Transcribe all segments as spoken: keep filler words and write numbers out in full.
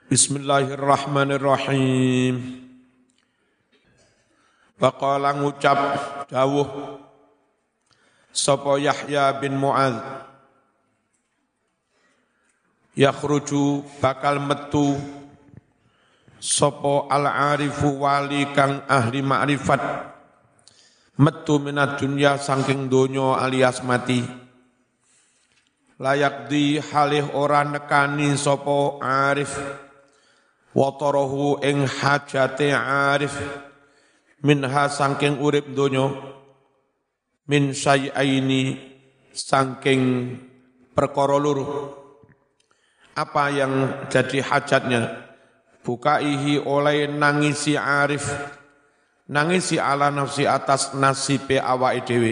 Bismillahirrahmanirrahim. Faqala ngucap dawuh sapa Yahya bin Mu'adz, yakhruju bakal metu sapa al-arifu wali kang ahli ma'rifat, metu minad dunya saking donya alias mati. Layak di halih ora nekani sapa arif watarahu ing hajate arif minha saking urip donya, min syai'aini saking perkara loro. Apa yang jadi hajatnya? Bukaihi oleh nangisi arif, nangisi ala nafsi atas nasibe awake dhewe.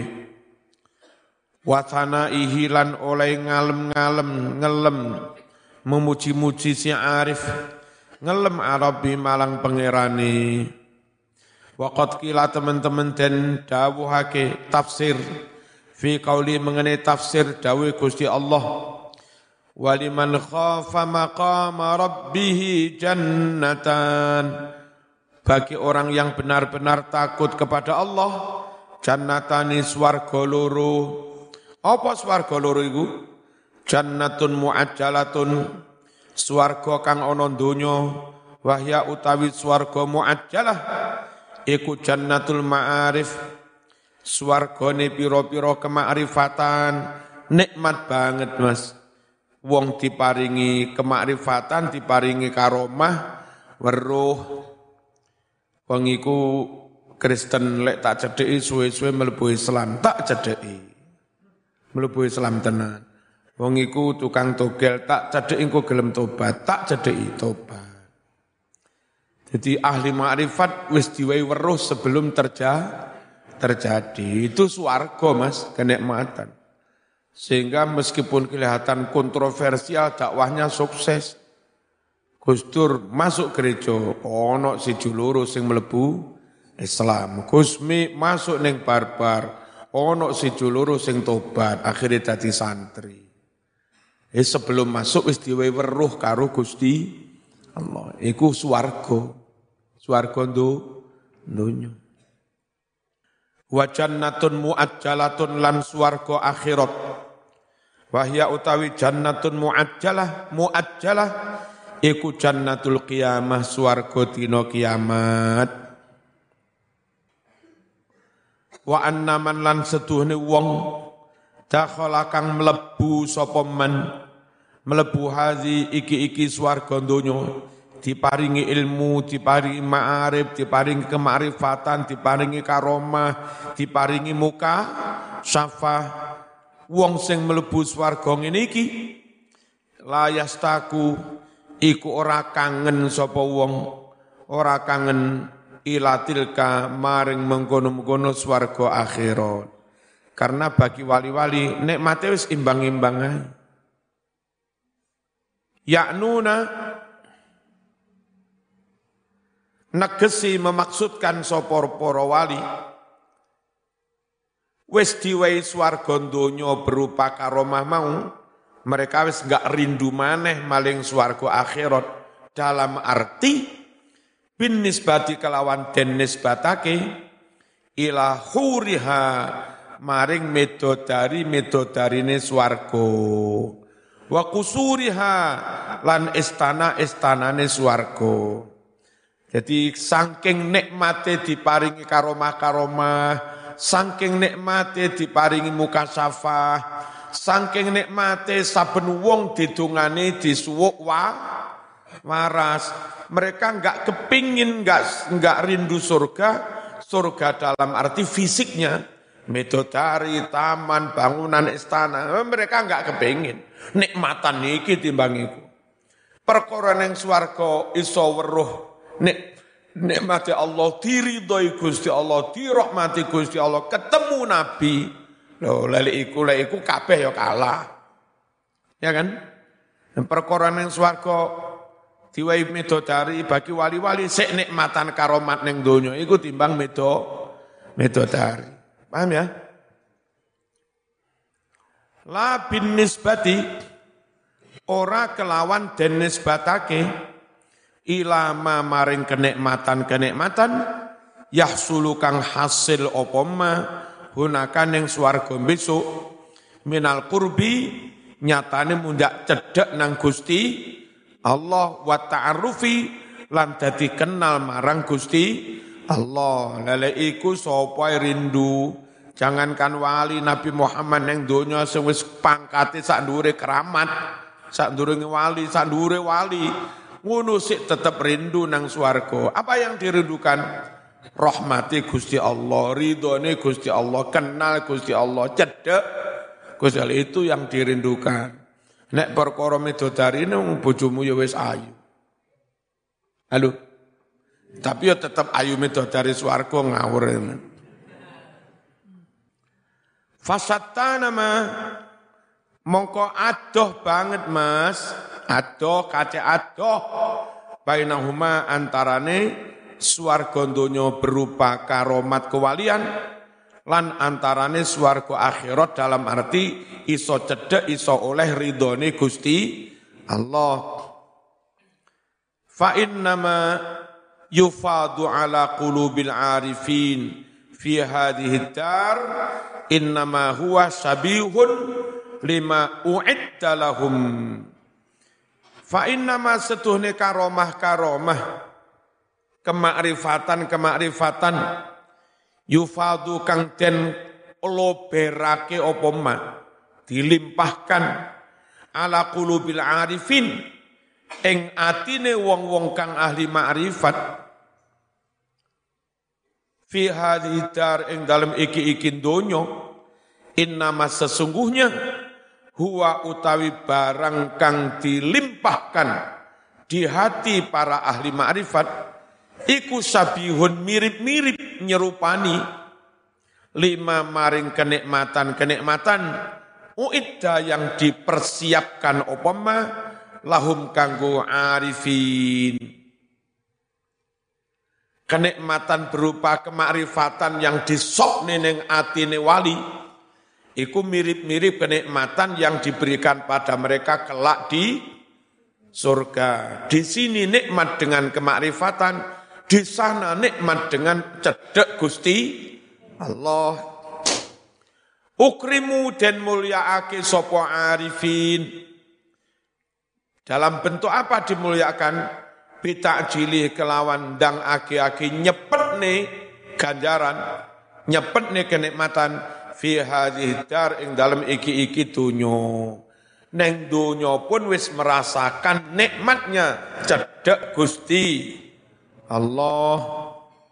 Watana ihilan oleh ngalem-ngalem ngelem memuji-muji si arif, ngelem arabi malang pangerane. Waqat kila teman-teman den dawuhake tafsir fi qauli mengenai tafsir dawuh Gusti Allah, waliman khafa maqama rabbih jannatan, bagi orang yang benar-benar takut kepada Allah, jannatani swarga loro. Apa swarga loro iku? Jannatun mu'ajjalatun, swarga kang ana donya, wahya utawi swarga mu'ajjalah iku jannatul ma'arif, swargane pira-pira kemakrifatan. Nikmat banget Mas, wong diparingi kemakrifatan, diparingi karomah, weruh. Wong iku Kristen lek tak cedheki suwe-suwe mlebu Islam, tak cedheki mlebu Islam tenan. Wong iku tukang togel, tak cedheki engko gelem tobat, tak cedheki tobat. Jadi ahli makrifat wis diwehi weruh sebelum terja, terjadi. Itu swarga Mas, kenikmatan. Sehingga meskipun kelihatan kontroversial, dakwahnya sukses. Gus Dur masuk gereja, ono siji loro sing mlebu Islam. Gusmi masuk ning barbar, ono siji loro sing tobat, akhirnya dadi santri. Eh sebelum masuk wis diwehi weruh karo Gusti Allah. Iku swarga. Swarga ndo donya. Wa jannatun mu'ajjalatun lan swarga akhirat. Wahya utawi jannatun mu'ajjalah, mu'ajjalah iku jannatul qiyamah, swarga dina kiamat. Wa annaman lan setuhne wong dakhala kang mlebu sapa man, mlebu hazi iki-iki swarga donya, diparingi ilmu, diparingi ma'arif, diparingi kemakrifatan, diparingi karomah, diparingi muka syafah. Wong sing mlebu swarga ngene iki layastaku iku ora kangen sapa wong, ora kangen ilatilka maring mengkono-mengkono swarga akhirat. Karena bagi wali-wali nikmate wis imbang-imbang ae. Ya'nuna negesi memaksudkan sapa para wali wis diwehi swarga donya berupa karomah mau, mereka wis enggak rindu maneh maling swarga akhirat, dalam arti bin nisbati kelawan den nisbatake ila huriha maring medodari medodarine swarga, wa kusuriha lan istana-istanane swarga. Jadi saking nikmate diparingi karomah-karomah, saking nikmate diparingi mukasyafah, saking nikmate saben wong didongane disuwuk wa waras. Mereka enggak kepingin, enggak enggak rindu surga, surga dalam arti fisiknya, medodari, taman, bangunan, istana. Mereka enggak kepingin. Nikmatan iki timbang iku. Perkara ning swarga iso weruh nek nikmati Allah, diridhoi Gusti Allah, dirahmati Gusti Allah, ketemu Nabi. Lho, lek iku lek iku kabeh ya kalah. Ya kan? Perkara ning swarga diwehi medodari bagi wali-wali sik nikmatan karomat ning donya iku timbang medo medodari. Paham ya? La bin nisbati ora kelawan den nisbatake ilama maring kenikmatan-kenikmatan yahsulu kang hasil apa ma hunakan ning swarga besok minal qurbi nyatane mundak cedhek nang Gusti Allah wa ta'arrufi lan dadi kenal marang Gusti Allah. Lele iku sapa rindu jangankan wali Nabi Muhammad ning donya sing wis pangkate sak ndure keramat, sak ndure wali, sak ndure wali, ngono sik tetep rindu nang swarga. Apa yang dirindukan? Rahmati Gusti Allah, ridhone Gusti Allah, kenal Gusti Allah, cedhek Gusti Allah, itu yang dirindukan. Nek perkara midodari nang bojomu ya wis ayu. Halo. Tapi ya tetep ayu midodari swarga ngawur. Fasattana ma mongko adoh banget Mas, adoh kace adoh bainahuma antarane swarga donya berupa karomat kewalian lan antarane swarga akhirat dalam arti iso cedhek iso oleh ridhone Gusti Allah. Fa innama yufadu ala qulubil arifin fi hadhihi dar innama huwa sabihun lima u'idda lahum. Fa innama setuhne karomah-karomah kemakrifatan-kemakrifatan yufadu kang den loberake apa ma dilimpahkan ala qulubil arifin ing atine wong-wong kang ahli makrifat fi hadhihi dar ing dalem iki-iki donya innama sesungguhnya huwa utawi barang kang dilimpahkan di hati para ahli makrifat iku sabihun mirip-mirip nyerupani lima maring kenikmatan-kenikmatan uidda yang dipersiapkan opama lahum kanggo arifin. Kenikmatan berupa kemakrifatan yang disokne ning atine wali iku mirip-mirip kenikmatan yang diberikan pada mereka kelak di surga. Di sini nikmat dengan kemakrifatan, di sana nikmat dengan cedhek Gusti Allah. Ukrimu dan mulyaake sapa arifin. Dalam bentuk apa dimuliakan? Bitakjili kelawan dang aki-aki nyepetne ganjaran, nyepetne kenikmatan fi hadhihi dar ing dalam iki-iki dunya. Neng dunya pun wis merasakan nikmatnya cedhek Gusti Allah.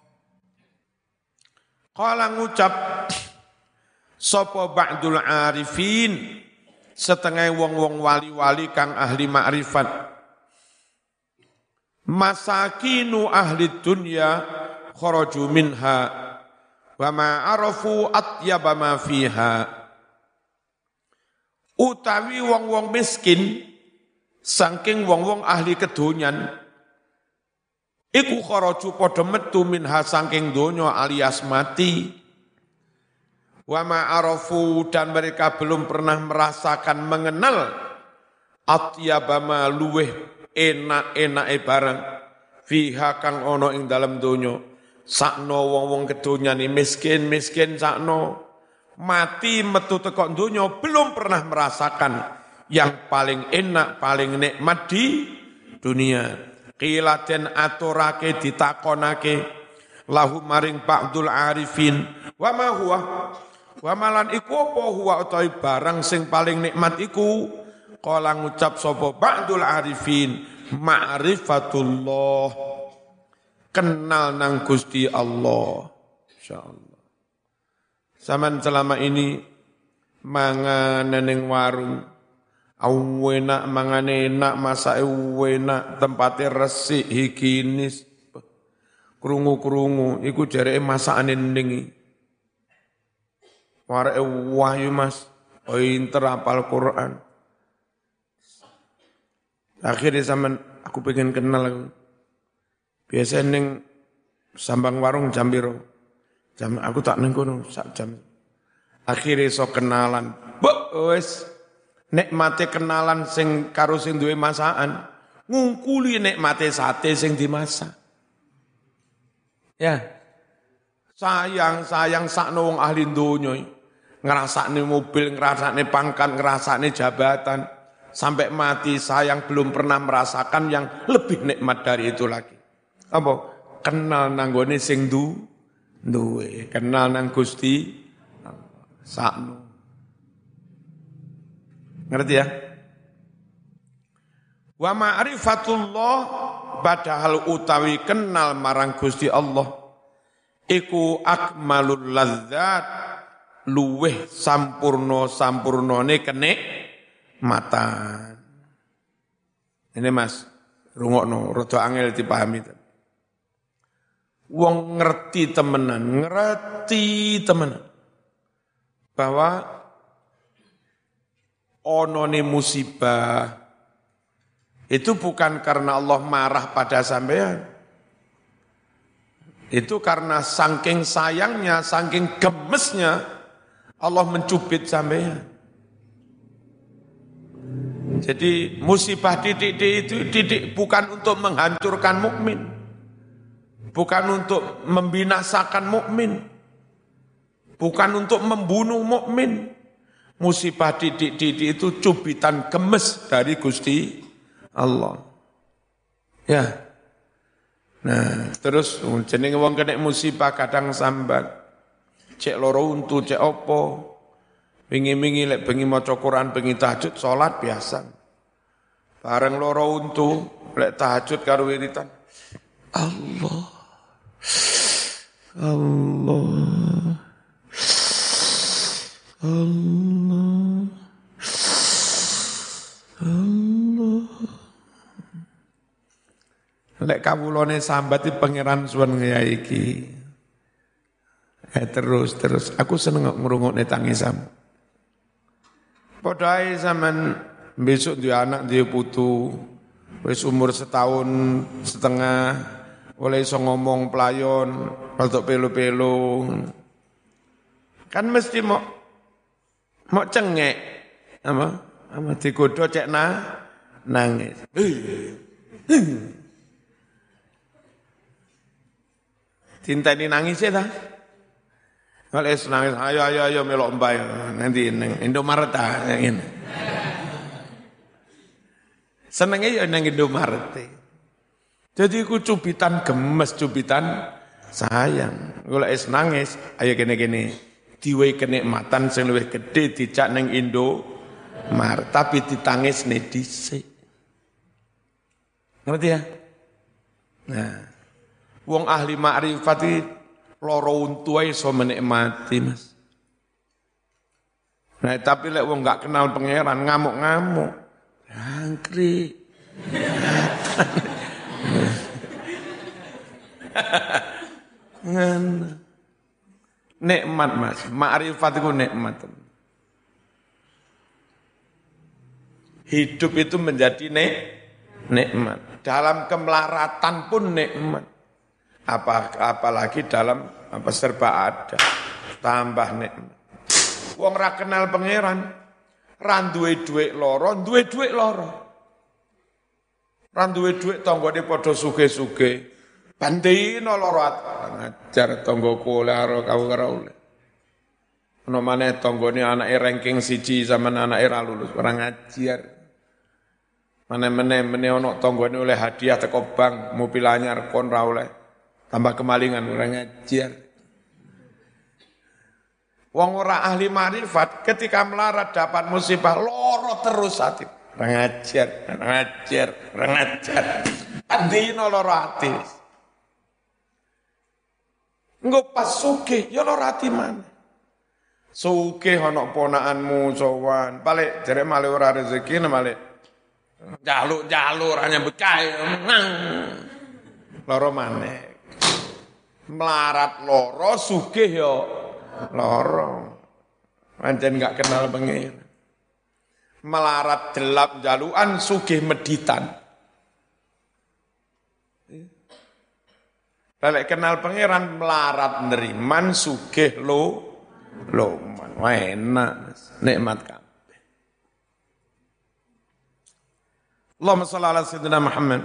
Qala ngucap sapa ba'dul arifin setengah wong-wong wali-wali kang ahli makrifat. Masakinu ahli dunya kharaju minha wa ma arafu atyaba ma fiha. Utawi wong-wong miskin saking wong-wong ahli kedonyan iku kharaju padha metu minha saking donya alias mati. Wa ma arafu dan mereka belum pernah merasakan mengenal atyaba ma luweh enak-enake barang fiha kang ana ing dalem donya. Sakno wong-wong kedonyan miskin-miskin sakno mati metu teko donya belum pernah merasakan yang paling enak, paling nikmat di dunia. Qila den aturake ditakonake lahu maring ba'dul arifin wa ma huwa wa malan iku apa huwa utawi barang sing paling nikmat iku. Kala ngucap sapa ba'dul arifin ma'rifatullah kenal nang Gusti Allah. Insyaallah. Zaman selama ini mangan ning warung enak, mangan enak, masake enak, tempate resik, higienis. Krungu-krungu iku jareke masakane ning. Wareke wahyu Mas, pinter hafal Quran. Akhirnya zaman aku pengen kenal aku. Biasa ning sambang warung jam piro? Jam aku tak ning kono sak jam. Akhirnya so kenalan. Wes nikmate kenalan sing karo sing duwe masakan. ngungkuli nikmate sate sing dimasak. Ya. Sayang-sayang sakno wong ahli donya ngrasakne mobil, ngrasakne pangkat, ngrasakne jabatan sampai mati sayang belum pernah merasakan yang lebih nikmat dari itu lagi. Apa? Kenal nanggone sing du duwe, kenal nang Gusti sakno. Ngerti ya? Wa ma'rifatullah padahal utawi kenal marang Gusti Allah iku akmalul ladzat luweh sampurno sampurnone kenik matan. Ini Mas, rungokno rada angel dipahami. Wong ngerti temenan, ngerti temenan bahwa onone musibah itu bukan karena Allah marah pada sampean. Itu karena saking sayangnya, saking gemesnya Allah mencubit sampean. Jadi musibah titik-titik itu titik bukan untuk menghancurkan mukmin, bukan untuk membinasakan mukmin, bukan untuk membunuh mukmin. Musibah titik-titik itu cubitan gemes dari Gusti Allah. Ya. Nah, terus jenenge wong kena musibah kadang sambat. Cek loro untu, cek opo. Wingi-wingi lek bengi maca Quran, bengi tahajud salat biasa. Bareng loro untu, lek tahajud karo wiritan. Allah. Allah. Allah. Allah. Lek kawulane sambat iki pangeran suwen kaya iki. Eh terus terus aku seneng ngrungokne tangisamu. Padha ae sampean besok duwe anak duwe putu wis umur setahun setengah oleh iso ngomong pelayon, rodok pelu-pelu. Kan mesti mau mau cengek apa? Apa digodho cek na nangis. Cinta ini nangis ya ta? Kalau es nangis, ayo ayo ayo melok mbak nanti neng Indomaret ta ngene. Senenge ya nang Indomaret. Jadi ku cubitan gemes, cubitan sayang. Kalau es nangis, ayo gini-gini. Diwe kenikmatan sing luwih gedhe dijak nang Indomaret, tapi ditangis ne dhisik. Ngerti ya? Nah, wong ahli makrifat iki loro untu ae iso menikmati, Mas. Nah, tapi lek wong gak kenal pangeran ngamuk-ngamuk. Angkrik. Nikmat, Mas. Makrifat itu nikmat. Hidup itu menjadi nik nikmat. Dalam kemelaratan pun nikmat. Apa apalagi dalam apa serba ada. Tambah nikmat. Wong ra kenal pangeran, ra duwe dhuwit loro, duwe dhuwit loro. Ra duwe dhuwit tanggane padha sugih-sugih. Bandina loro ngajar tanggoku karo kau karo oleh. Ono maneh tanggane anake ranking siji sampean anake ra lulus, ora ngajar. Meneh-meneh meneh ono tanggane oleh hadiah teko bank, mobil anyar kon ra oleh. Tambah kemalingan ora ngajar. Wong ora ahli makrifat ketika melarat dapat musibah loro terus hati. Ora ngajar, ora ngajar, ora ngajar. Andino loro ati. Engko pas sugih ya loro ati maneh. Sugih ana ponakanmu sowan, balik jare male ora rezeki male. Jaluk-jaluk ora nyambut kae. Loro maneh. Melarat loro sugih ya loro. Pancen gak kenal pengen. Melarat delap jaluan sugih meditan. Lek kenal pangeran melarat neriman sugih lo loman. Wah enak, nikmat kabeh. Allahumma shalli ala sayyidina Muhammad.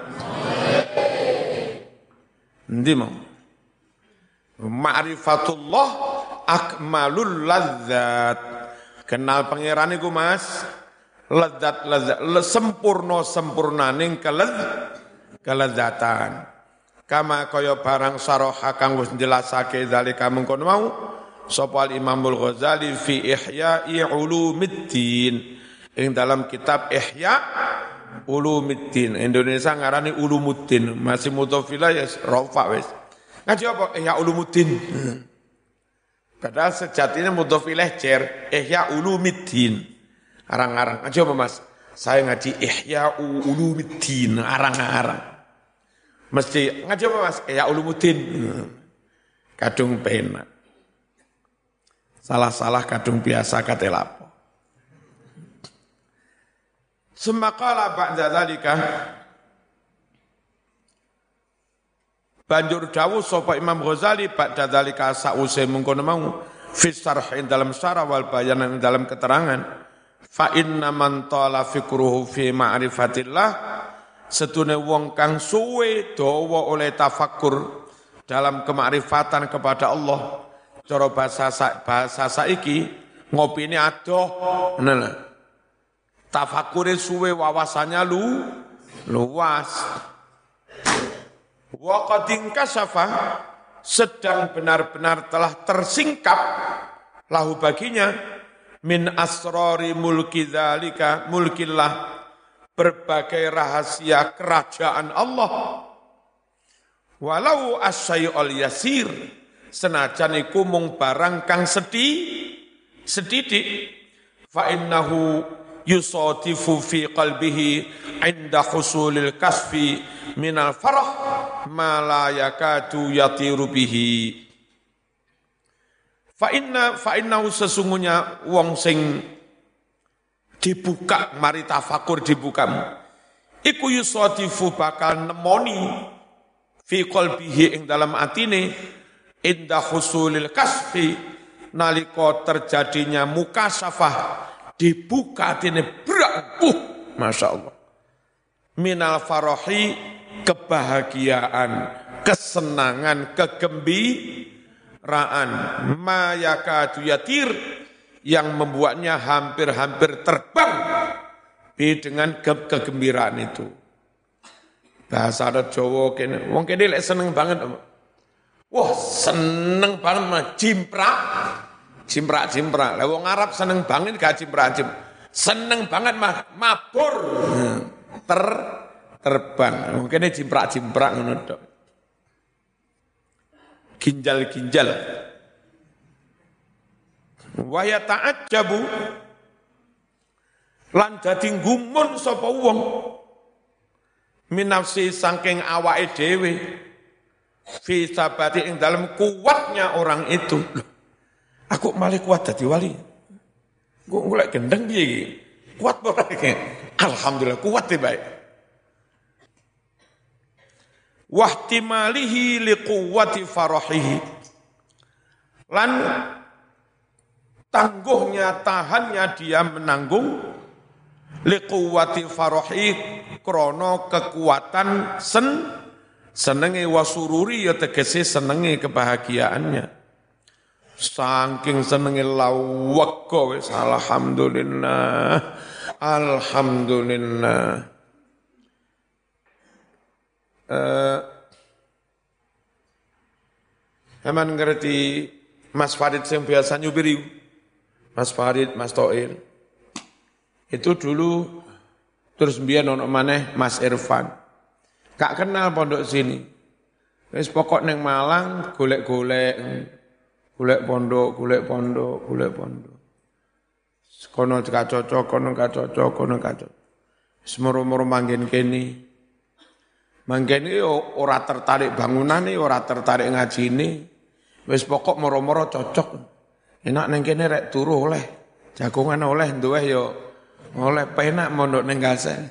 Endi mau? Ma'rifatullah akmalul ladzat. Kenal pangeran iku Mas, lezat lezat sempurna sempurnaning kelez kelezatan. Kama kaya barang saraha kang wis jelasake zalika mengkono mau sapa Imamul Ghazali fi Ihya'i Ulumiddin ing dalam kitab Ihya Ulumiddin. Indonesia ngarani Ulumuddin, masih mutafila ya rafa wis. Ngaji apa Ihya Ulumuddin? Padahal sejatinya mutafila jer Ihya Ulumiddin. Arang-arang. Ngaji apa Mas? Saya ngaji Ihya Ulumiddin, arang-arang. Mesti ngaji apa Mas? Ihya Ulumuddin. Kadung penak. Salah-salah kadung biasa kate lapo. Semakala ba'da dzalika banjur dawuh sapa Imam Ghazali ba'da dzalika sause mengkono mau fi syarh dalam syarah wal bayan dalam keterangan fa inna man tala fikruhu fi ma'rifatillah setune wong kang suwe dawa oleh tafakkur dalam kemakrifatan kepada Allah. Cara bahasa bahasa saiki ngopine adoh ngono. Tafakure suwe wawasannya lu luas. Wa qad inkashafa sedang benar-benar telah tersingkap lahu baginya min asrori mulki dzalika mulkillah berbagai rahasia kerajaan Allah. Walau asyai'ul yasir senajan iku mung barang kang sedih sedidik fa innahu yusadifu fi qalbihi inda husulil kasfi minal farah ma la yakadu yatiru bihi fa inna fa innahu sesungguhnya wong sing dibuka mari tafakur dibukamu iku yusadifu bakal nemoni fi qalbihi ing dalam atine inda husulil kasfi nalika terjadinya mukasafah dibuka atine brak uh Masya Allah minal farahi kebahagiaan kesenangan kegembiraan ma yakadu yatir yang membuatnya hampir-hampir terbang dengan ke kegembiraan itu. Bahasa adat Jawa kene wong kene lek seneng banget. Wah, seneng banget mah jimprak. Jimprak-jimprak. Lah wong Arab seneng banget gak jimprak-jim. Seneng banget mah mabur. Ter terbang. Mungkin jimprak-jimprak ngono tok. Ginjal-ginjal. Wa ya ta'ajjabu lan dadi gumun sapa wong minafsi saking awake dhewe fi sabati ing dalam kuatnya orang itu. Loh, aku malah kuat dadi wali. Gue golek gendeng piye iki? Kuat ora iki? Alhamdulillah kuat e bae. Wahtimalihi liquwwati farahihi. Lan tangguhnya tahannya dia menanggung liquwwati farahi krana kekuatan sen senenge wasururi ya tegese senenge kebahagiaannya. Saking senenge lawaka wis alhamdulillah. Alhamdulillah. Eh Eman ngerti Mas Farid yang biasa nyupiri. Mas Farid, Mas Toir. Itu dulu terus mbiyen ono maneh Mas Irfan. Gak kenal pondok sini. Wis pokok neng Malang golek-golek, golek pondok, golek pondok, golek pondok. Kono gak cocok, kono gak cocok, kono gak cocok. Semoro-moro manggen kene. Manggen iki ora tertarik bangunane, ora tertarik ngajine. Wis pokok moro-moro cocok. Enak neng kene rek turu oleh. Jagongan oleh duweh yo oleh penak mondok neng Gasen.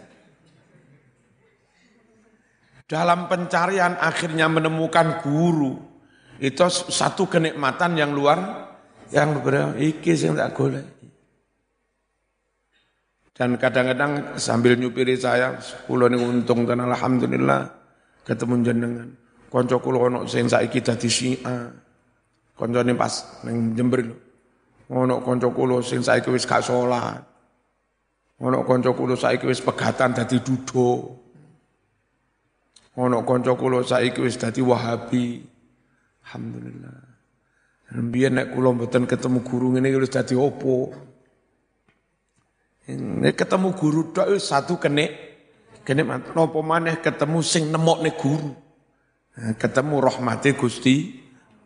Dalam pencarian akhirnya menemukan guru. Itu satu kenikmatan yang luar yang berbeda. Iki sing tak golek. Dan kadang-kadang sambil nyupiri saya, kula ning untung dan alhamdulillah ketemu jenengan. Kanca kula ono sing saiki dadi Syiah. Kancane pas ning Jember lho. Ono kanca kula sing saiki wis gak salat. Ono kanca kula saiki wis pegatan dadi duda. Ono kanca kula saiki wis dadi Wahabi. Alhamdulillah. Biyen nek kula mboten ketemu guru ngene wis dadi opo? Nek ketemu guru tok satu kenek kenek napa maneh ketemu sing nemokne guru. Ketemu rahmate Gusti.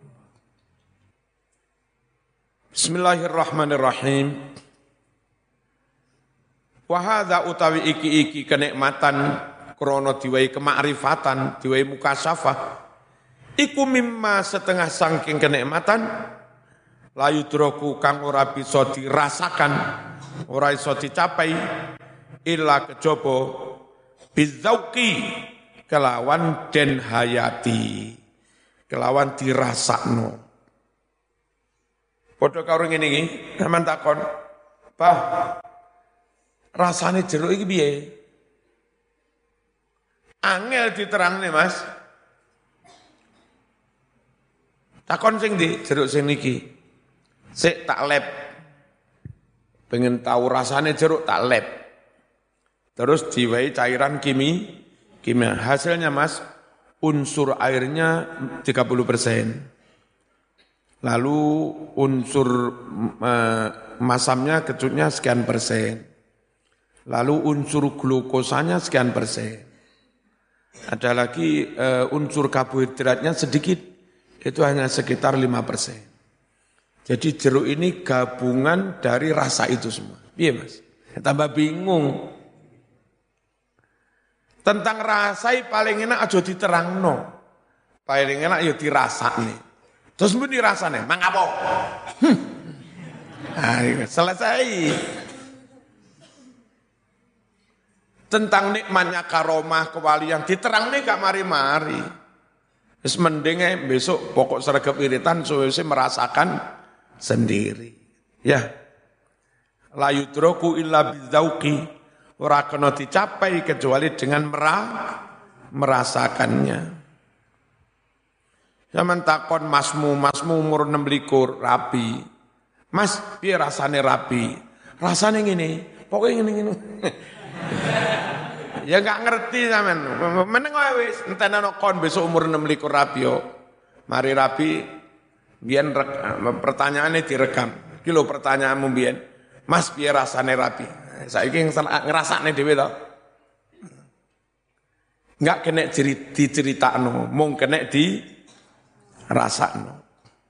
Bismillahirrahmanirrahim. Wa hadza utawi iki-iki kenikmatan krana diwai kemakrifatan, diwai mukasyafah. Iku mimma setengah saking kenikmatan layu droku kang ora bisa dirasakan, ora iso dicapai illa kejaba bizauqi kelawan den hayati, kelawan dirasakno. Padha karo ngene iki, sampean takon, "Bah, rasane jeruk iki piye?" Angel diterangne, Mas. Takon sing ndi jeruk sing niki? Sik tak lep. Pengen tahu rasane jeruk tak lep. Terus diwai cairan kimi, kimia. Hasilnya, Mas, unsur airnya tiga puluh persen. Lalu unsur uh, masamnya, kecutnya sekian persen. Lalu unsur glukosanya sekian persen. Ada lagi uh, unsur karbohidratnya sedikit, itu hanya sekitar lima persen. Jadi jeruk ini gabungan dari rasa itu semua. Iya, Mas? Tambah bingung. Tentang rasa paling enak aja diterangno. Paling enak ya dirasakne. Terus mbuni rasane, mang apa? Hmm. Nah, selesai. Tentang nikmatnya karomah kewalian diterangne gak mari-mari. Wis mending besok pokok sregep iritan suwe merasakan sendiri. Ya. La yudraku illa bizauqi, ora kena dicapai kecuali dengan merah, merasakannya. Zaman takon masmu, masmu umur enam likur, rapi. Mas, piye rasane rapi? Rasane ngene, pokoknya ngene-ngene. Ya enggak ngerti sampean. Meneng wae wis entenono kon besok umur enam likur rapi yo. Mari rapi biyen pertanyaane direkam. Iki lho pertanyaanmu biyen. Mas, piye rasane rapi? Saiki ngrasakne dhewe to. Enggak kena diceritakno, mung kena di rasakno.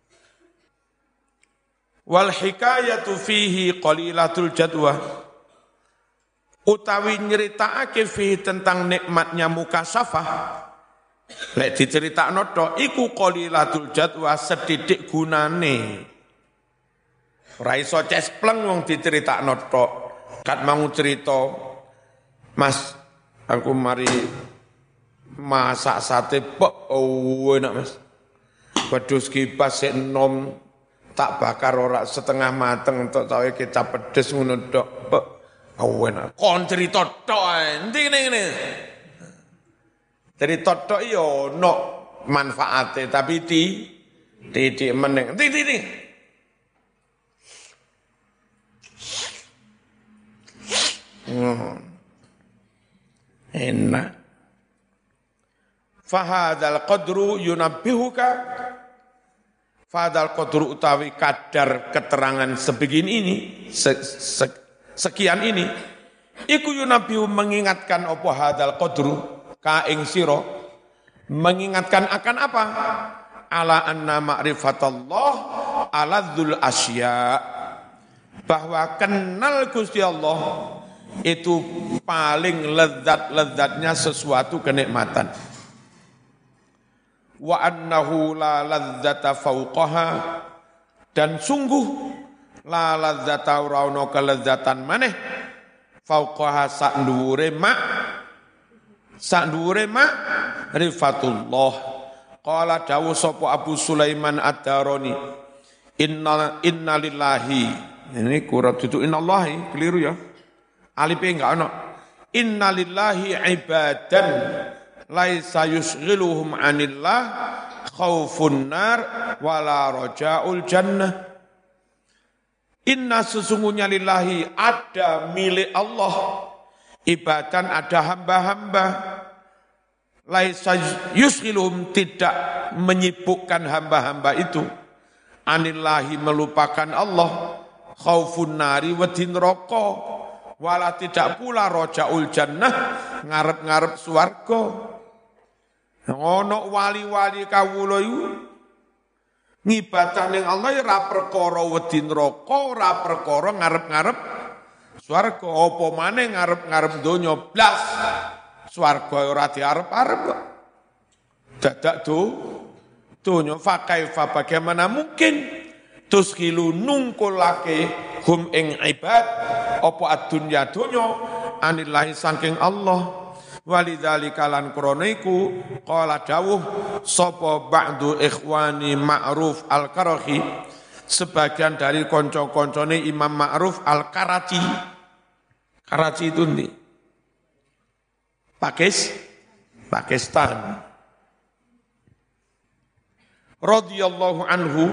Wal hikayatu fihi qalilatul jadwa, utawi nyeritakake fihi tentang nikmatnya mukasyafah, lek diceritakno tok iku qalilatul jadwa, sedidik gunane. Ora iso cespleng wong diceritakno tok. Kat mau cerita, Mas, aku mari masak sate pok, oh enak Mas. Wedhus kipas sik enom tak bakar ora setengah mateng entuk cawe kecap pedes ngono tok. Oh enak. Kon cerita tok endi ngene. Cerita tok ya ono manfaate tapi di titik meneng. Titik. Hmm. Enak. Fahadal qadru yunabbihuka, fahadal qadru utawi kadar keterangan sebegini ini, se, se, sekian ini, iku yunabbihu mengingatkan apa hadal qadru ka ing sira, mengingatkan akan apa? Ala anna ma'rifatallah ala dzul asya, bahwa kenal Gusti Allah itu paling lezat-lezatnya sesuatu kenikmatan. Wa annahu la ladzata fauqaha, dan sungguh la ladzata ora ono kelezatan maneh fauqaha sak dhuwure mak sak dhuwure mak rifatullah. Qala dawu sapa Abu Sulaiman Ad-Darani, inna inna lillahi, ini kurang duduk innallahi, keliru ya. Alipe enggak ono. Innalillahi ibadan laisa yusghiluhum 'anillah khaufun nar wala raja'ul jannah. Inna sesungguhnya lillahi ada milik Allah ibadan ada hamba-hamba laisa yusghiluhum tidak menyibukkan hamba-hamba itu anillahi melupakan Allah khaufun nari wedi neraka wala tidak pula rojaul jannah ngarep-ngarep swarga. Ono wali-wali kawula iku ngibadah ning Allah ora perkara wedi neraka, ora perkara ngarep-ngarep swarga, apa maneh ngarep-ngarep donya blas. Swarga ora diarep-arep kok. Dadak do donya fa kaifa bagaimana mungkin tuskilu nungkulake hum ing ibad apa ad-dunya donya anillahi saking Allah. Walidzalika lan krana iku qala dawuh sapa ba'du ikhwani Ma'ruf Al-Karachi sebagian dari kanca-kancane Imam Ma'ruf Al-Karachi. Karachi itu ndi? Pakis Pakistan. Radhiyallahu anhu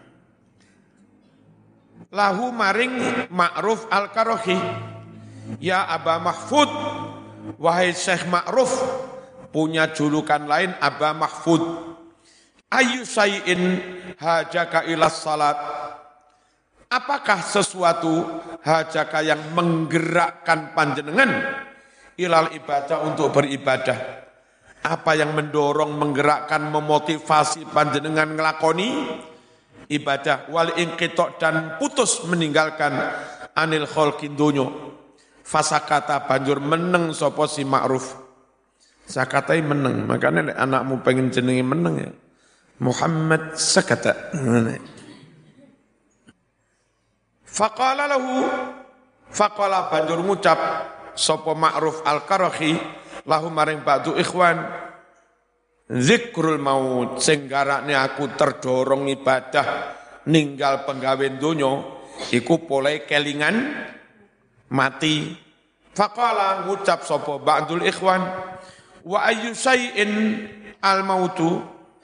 lahu maring Ma'ruf Al-Karachi ya Aba Mahfud wahai Syekh Ma'ruf punya julukan lain Aba Mahfud ayu sayin hajaka ilas salat apakah sesuatu hajaka yang menggerakkan panjenengan ilal ibadah untuk beribadah apa yang mendorong menggerakkan memotivasi panjenengan ngelakoni ibadah wal inqitok dan putus meninggalkan anil khalqin dunyo. Fasakata banjur meneng sapa si Ma'ruf. Sakatai meneng, makanya nek anakmu pengen jenenge meneng ya. Muhammad sakata. Faqala lahu faqala banjur ngucap sapa Ma'ruf Al-Karachi lahu maring ba'du ikhwan zikrul maut sing garakne aku terdorong ibadah ninggal penggawe donya iku pole kelingan mati. Faqala ngucap sapa ba'dul ikhwan wa ayyu syai'in al mautu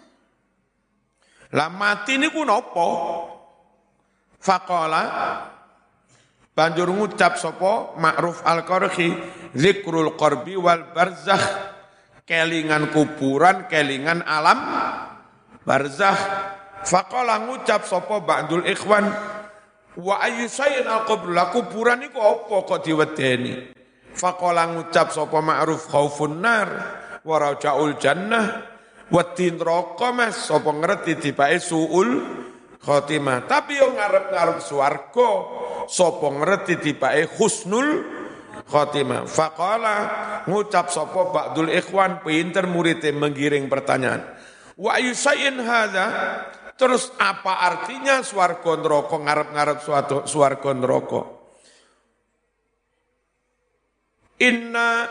la mati niku napa. Faqala banjur ngucap sapa Ma'ruf Al-Karachi zikrul qarbi wal barzakh kelingan kuburan kelingan alam barzakh. Faqala ngucap sapa ba'dul ikhwan wa ayyu syai'in al-qabr la kuburan iku apa kok diwedeni. Faqala ngucap sapa Ma'ruf khaufun nar wa raja'ul jannah wedi neraka mas sapa ngerti dibake suul khotimah tapi yo ngarep-ngarep swarga sapa ngerti dibake husnul khotimah. Faqala ngucap sapa ba'dul ikhwan pinter muridé menggiring pertanyaan wa ayyu syai'in hadza terus apa artinya swarga neraka ngarep-ngarep suatu swarga neraka. Inna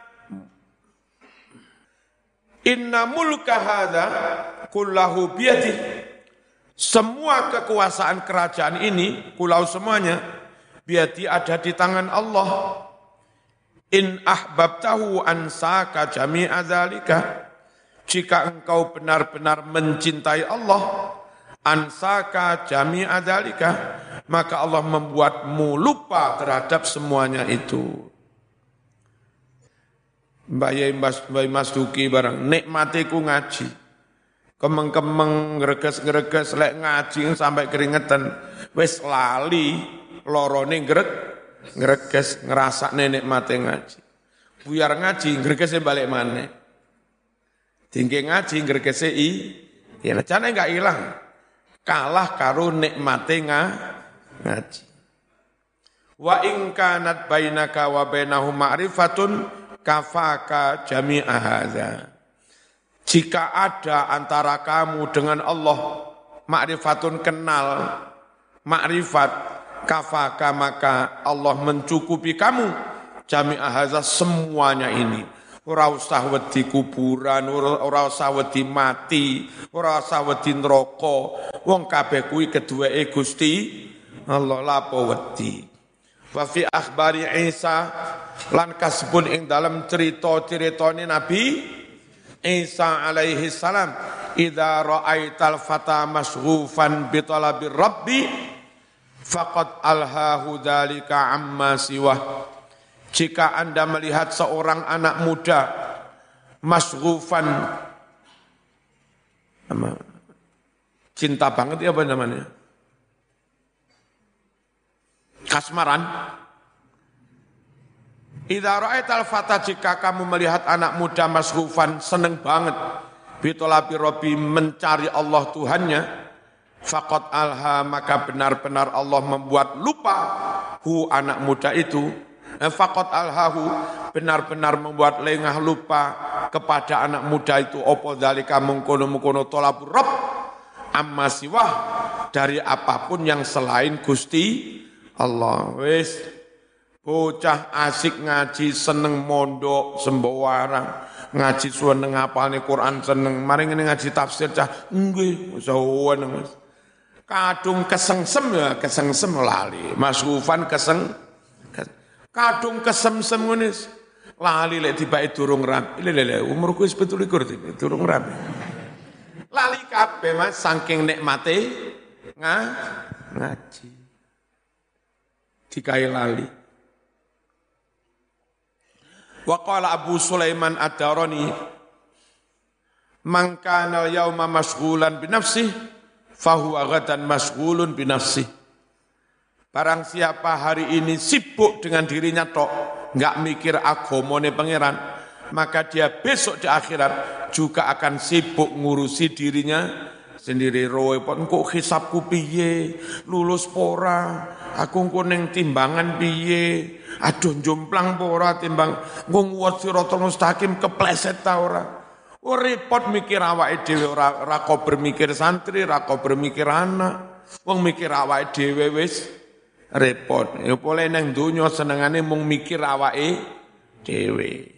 Inna mulka hadza kullahu biyadi semua kekuasaan kerajaan ini kulau semuanya biyadi ada di tangan Allah. In ahbabtahu ansaka jami'a dzalika jika engkau benar-benar mencintai Allah ansaka jami'a dzalika maka Allah membuatmu lupa terhadap semuanya itu. Mbak Yai Mas, Mbak Mas Duki barang nikmatiku ngaji kemeng-kemeng ngreges-ngreges lek ngaji sampai keringetan wis lali lorone ngreg ngreges ngrasakne nikmate ngaji buyar ngaji ngregese balik maneh dingke ngaji ngregese i ya jane enggak ilang kalah karo nikmate ngaji. Wa in kanat bainaka wa bainahum ma'rifatun kafaka jami'a hadza. Jika ada antara kamu dengan Allah ma'rifatun kenal, ma'rifat kafaka maka Allah mencukupi kamu jami'a hadza semuanya ini. Ora usah wedi kuburan, ora usah wedi mati, ora usah wedi neraka. Wong kabeh kuwi keduweke Gusti Allah lapo wedi. Wa fi akhbari Isa lan kasbun ing dalam cerita-ceritane Nabi Isa alaihi salam, idza ra'aital fata masghufan bi talabir rabbi faqad alhahu dzalika amma siwah. Jika Anda melihat seorang anak muda masghufan, cinta banget ya apa namanya? Kasmaran. Idza ra'aital fata, jika kamu melihat anak muda masghufan seneng banget bitolabi rabbi, mencari Allah Tuhannya, faqad alha, maka benar-benar Allah membuat lupa hu anak muda itu, faqad alhahu, benar-benar membuat lengah lupa kepada anak muda itu opo dzalika mengkono-mengkono tolabur rabb amma siwah, dari apapun yang selain Gusti Allah. Wis bocah asik ngaji, seneng mondok sembarang, ngaji seneng hafalne Quran seneng, mari ngene ngaji tafsir cah nggih sawen Mas. Kadung kesengsem ya kesengsem lali, masghufan keseng kadung kesemsem ngene lali lek tibake durung rapi. Lele umurku wis pitu likur durung rapi. Lali kabeh Mas saking nikmate nga ngaji. Dikai lali. Wa qala Abu Sulaiman Ad-Darani, man kana al-yawma mashghulan bi nafsihi fahuwa ghadan mashghulun bi nafsihi. Barang siapa hari ini sibuk dengan dirinya tok, enggak mikir agamane pangeran, maka dia besok di akhirat juga akan sibuk ngurusi dirinya sendiri. Roe pon kok hisabku piye, lulus pora, aku engko ning timbangan piye, aduh jomplang pora timbang ngwat siratal mustaqim kepleset ta ora. Oh repot mikir awake dhewe, ora ora kok bermikir santri, ora kok bermikir anak. Wong mikir awake dhewe wis repot. Ya boleh nang donya senengane mung mikir awake dhewe.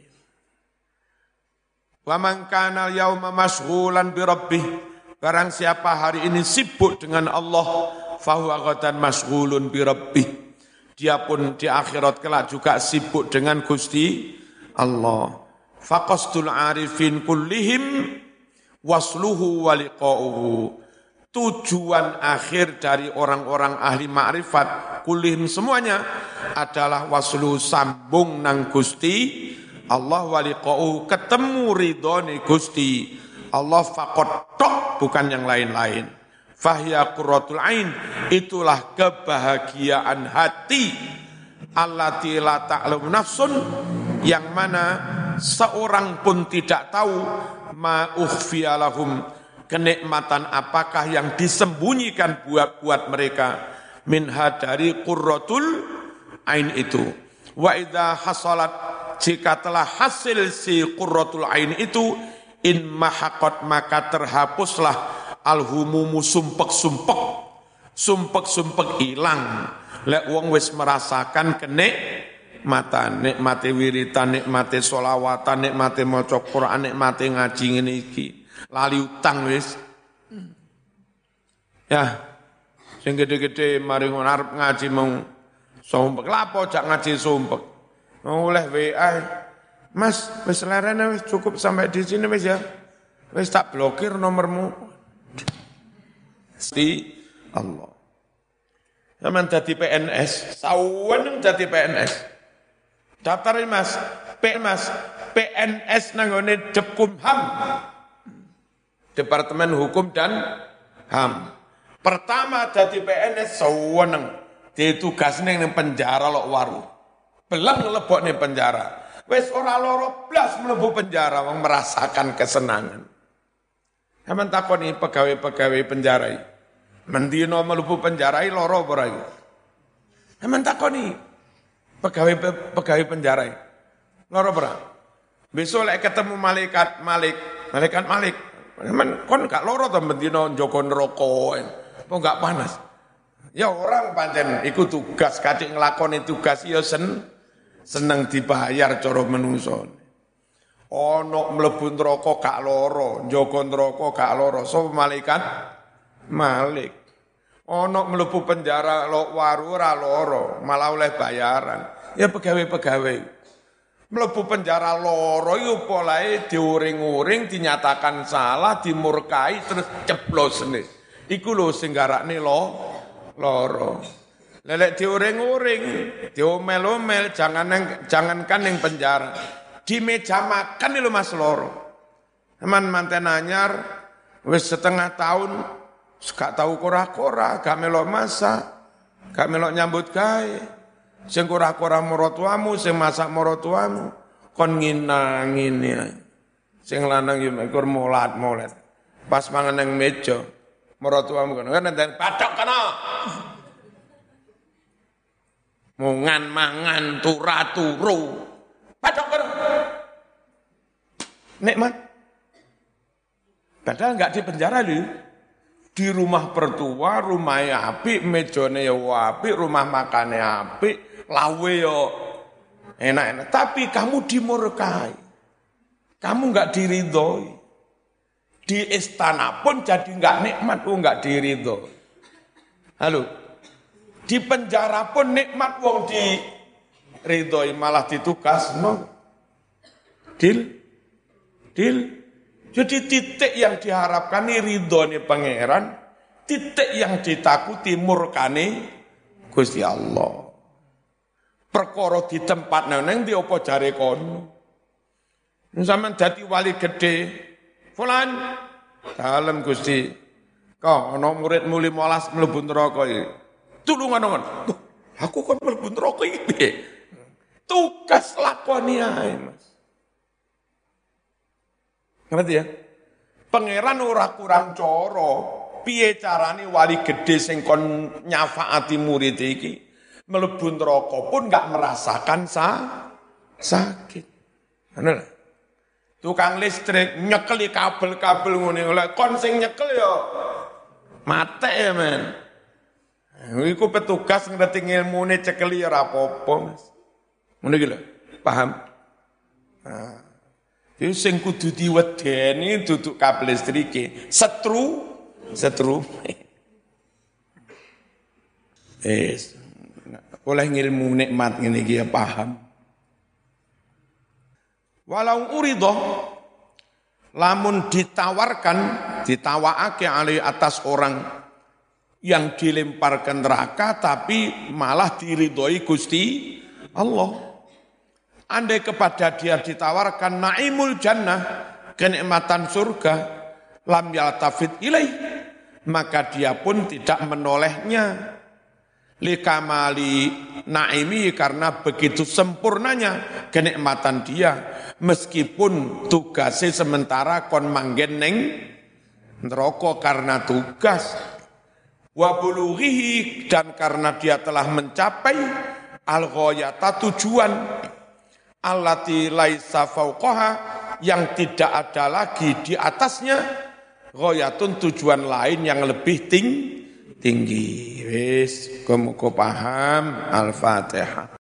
Wa man kana yauma mashghulan bi rabbih, barang siapa hari ini sibuk dengan Allah, fahuwa ghadan mashghulun bi rabbih, dia pun di akhirat kelak juga sibuk dengan Gusti Allah. Faqasdul arifin kullihim wasluhu wa liqa'uhu, tujuan akhir dari orang-orang ahli ma'rifat kullihim semuanya adalah wasluhu, sambung nang Gusti Allah, wa liqa'uhu, ketemu ridhone Gusti Allah, faqad tok, bukan yang lain-lain. Fahya qurratul ain, itulah kebahagiaan hati, allati la ta'lamu nafsun, yang mana seorang pun tidak tahu, ma ukhfiya lahum, kenikmatan apakah yang disembunyikan buat buat mereka, minha, dari qurratul ain itu. Wa idza hasalat, jika telah hasil si qurratul ain itu, in mahaqat, maka terhapuslah alhumumu, sumpek-sumpek, sumpek-sumpek hilang. Lek wong wis merasakan kenikmatan, nikmate wiritan, nikmate sholawatan, nikmate maca Quran, nikmate ngaji ngene iki, lali utang wis. Ya, sing gede-gede mari ngarep ngaji mung sumpek, lapo jak ngaji sumpek. Oleh W A, Mas, wis lerene wis cukup sampai di sini wis ya. Wis tak blokir nomormu. Gusti Allah. Zaman dadi P N S, sawen dadi P N S. Daftarin Mas, P Mas, P N S nanggone Depkumham. Departemen Hukum dan H A M. Pertama dadi P N S saweneng, ditugasne ning penjara lok waru. Belang lebok ning penjara. Wis ora loro blas mlebu penjara, wong merasakan kesenangan. Sampeyan takoni pegawai-pegawai penjara iki, mendino mlebu penjara iki loro apa ora iki? Sampeyan takoni pegawai-pegawai penjara iki, loro apa ora? Besok lek ketemu malaikat Malik, malaikat Malik, sampeyan kon gak loro to mendino njogo neraka, apa gak panas? Ya orang pancen iku tugas, kadek nglakoni tugas ya sen seneng dibayar cara menungso. Ono mlebu neraka gak lara, njaga neraka gak lara, sapa malaikat Malik. Ono mlebu penjara lo waru ora loro, malah oleh bayaran. Ya pegawai-pegawai. Mlebu penjara loro iku polahe diuring-uring, dinyatakan salah, dimurkai terus ceblosne. Iku lho sing garakne lo loro. Lelek diuring-uring, diomel-omel, jangan jangankan ning penjara. Di meja makan lho Mas loro. Teman manten anyar wis setengah tahun gak tahu kora-kora, gak melok masak, gak melok nyambut gawe. Sing kora-kora marotuamu, sing masak marotuamu, kon nginangin ya. Sing lanang yo mekur molat-molat. Pas mangan nang meja, marotuamu kan ngendang patok kana. Mungan mangan turu-turu. Patok kana. Nikmat. Padahal enggak di penjara lho. Di rumah pertua, rumahnya apik, mejane ya apik, rumah makannya apik, lawe yo enak-enak. Tapi kamu dimurkai. Kamu enggak diridhoi. Di istana pun jadi enggak nikmat, oh enggak diridhoi. Halo. Di penjara pun nikmat wong diridhoi malah ditugas no. Dil. Dil. Jadi titik yang diharapkan ini ridhone pangeran, titik yang ditakuti murkane Gusti Allah. Perkara di tempat nang ndi apa jare kono. Sampeyan dadi wali gede. Fulan, dalem Gusti. Kok ana muridmu lima belas mlebu neraka iki. Tulungan ngono. Aku kon mlebu neraka iki piye? Tugas lakoni ae, Mas. Ngerti ya? Pangeran ora kurang cara. Piye carane wali gede sing kon nyafaati murid iki mlebu neraka pun enggak merasakan sa sakit. Ngono lho. Tukang listrik nyekeli kabel-kabel ngene lho. Kon sing nyekel ya mate ya, men. Iku petugas ngerti ilmune cekeli ora apa-apa, Mas. Ngono iki lho. Paham? Nah. Itu sing kudu diwedeni duduk kabel listrike, setru, setru. Es, oleh ngilmu nikmat ngene iki ya paham. Walau urido, lamun ditawarkan, ditawaake alai atas orang yang dilemparkan neraka tapi malah diridhoi Gusti Allah. Andai kepada dia ditawarkan naimul jannah, kenikmatan surga, lam yaltafit ilaih, maka dia pun tidak menolehnya. Likamali naimi, karena begitu sempurnanya kenikmatan dia, meskipun tugasnya sementara kon manggen neng neraka karena tugas. Wa bulughihi, dan karena dia telah mencapai al-ghayata, tujuan allati laisa fauqaha, yang tidak ada lagi di atasnya, ghayatun, tujuan lain yang lebih ting tinggi. Wis, muga paham. Al-Fatihah.